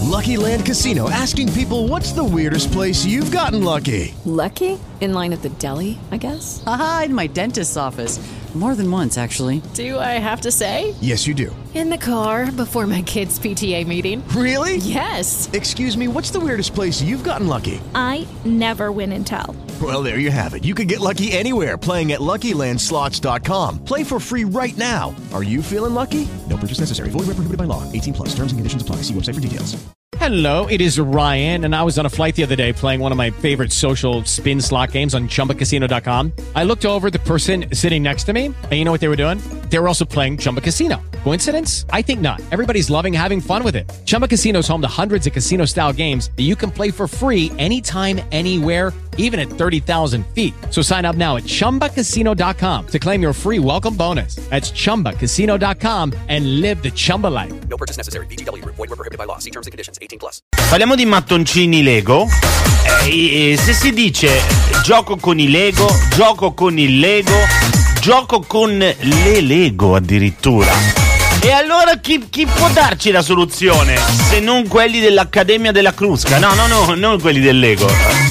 Lucky Land Casino, asking people, what's the weirdest place you've gotten lucky? Lucky? In line at the deli, I guess? Aha, in my dentist's office. More than once, actually. Do I have to say? Yes, you do. In the car before my kids' PTA meeting. Really? Yes. Excuse me, what's the weirdest place you've gotten lucky? I never win and tell. Well, there you have it. You can get lucky anywhere, playing at LuckyLandSlots.com. Play for free right now. Are you feeling lucky? No purchase necessary. Void where prohibited by law. 18 plus. Terms and conditions apply. See website for details. Hello, it is Ryan, and I was on a flight the other day playing one of my favorite social spin slot games on ChumbaCasino.com. I looked over the person sitting next to me, and you know what they were doing? They were also playing Chumba Casino. Coincidence? I think not. Everybody's loving having fun with it. Chumba Casino is home to hundreds of casino-style games that you can play for free anytime, anywhere, even at 30,000 feet. So sign up now at ChumbaCasino.com to claim your free welcome bonus. That's ChumbaCasino.com and live the Chumba life. No purchase necessary. VGW. Void where prohibited by law. See terms and conditions. 18 plus. Parliamo di mattoncini Lego. Se si dice gioco con i Lego, gioco con il Lego, gioco con le Lego addirittura. E allora chi può darci la soluzione? Se non quelli dell'Accademia della Crusca? No, non quelli del Lego.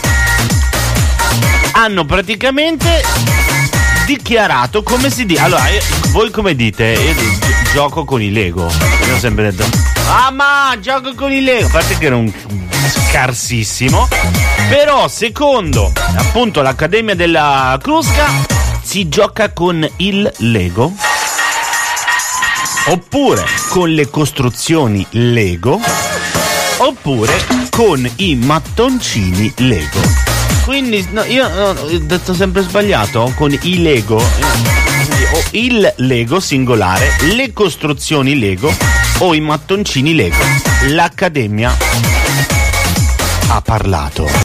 Hanno praticamente dichiarato come si dice. Allora, voi come dite? Io gioco con i Lego. Io ho sempre detto, ma gioco con i Lego. A parte che era un scarsissimo. Però secondo appunto l'Accademia della Crusca si gioca con il Lego, oppure con le costruzioni Lego, oppure con i mattoncini Lego. Quindi no, io ho detto sempre sbagliato, con i Lego, o il Lego singolare, le costruzioni Lego o i mattoncini Lego. L'Accademia ha parlato.